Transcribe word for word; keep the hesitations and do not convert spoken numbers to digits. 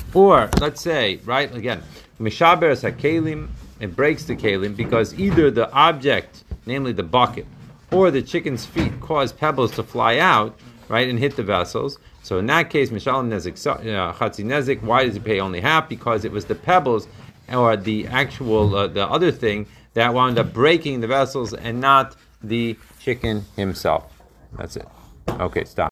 Or let's say, right again, mishaber hakelim, it breaks the kelim because either the object, namely the bucket, or the chicken's feet cause pebbles to fly out, right, and hit the vessels. So in that case, mishalim nezik chatzi nezik. Why does he pay only half? Because it was the pebbles or the actual uh, the other thing that wound up breaking the vessels and not the chicken himself. That's it. Okay, stop.